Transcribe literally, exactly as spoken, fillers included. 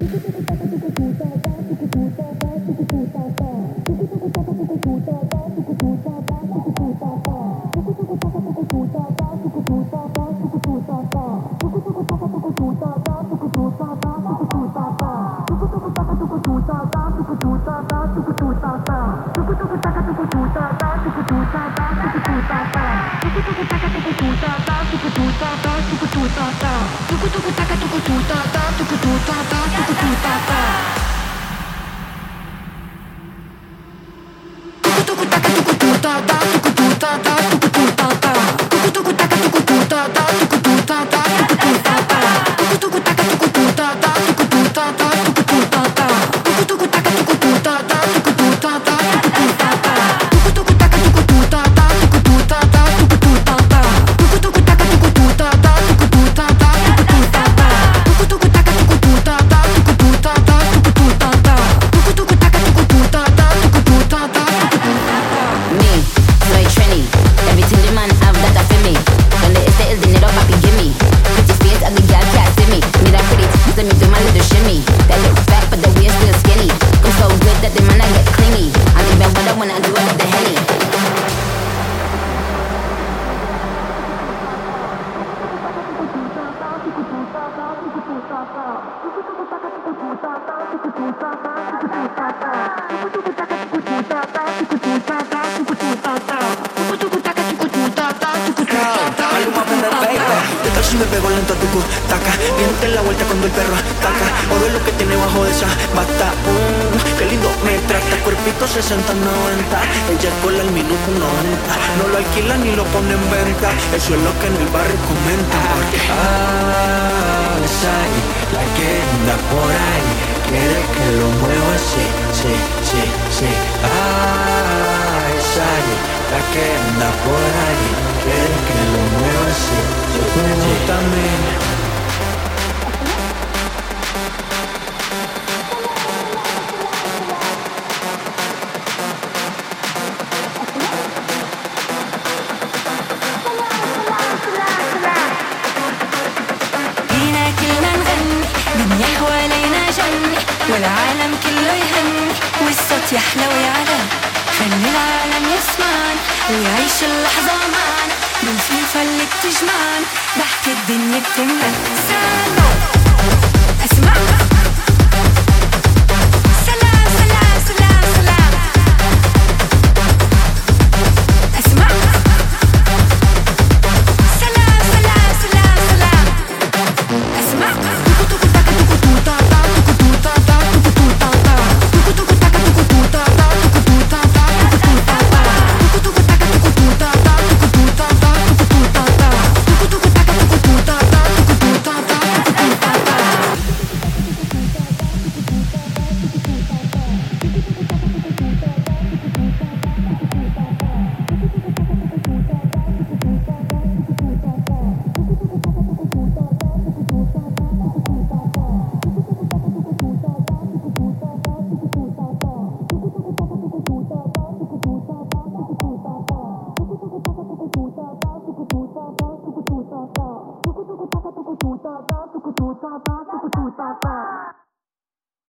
Eso es lo que en el barrio comentan. Porque ah, Sari, la que anda por ahí, quiere que lo mueva así, sí, sí, sí. Ah, Sari, la que anda por ahí, quiere que lo mueva así, sí, sí, sí. También. والعالم كله يهني والصوت يحلى ويعلى خلي العالم يسمعن ويعيش اللحظة معنا بالفيفا اللي بتجمعن ضحك الدنيا بتملى سلام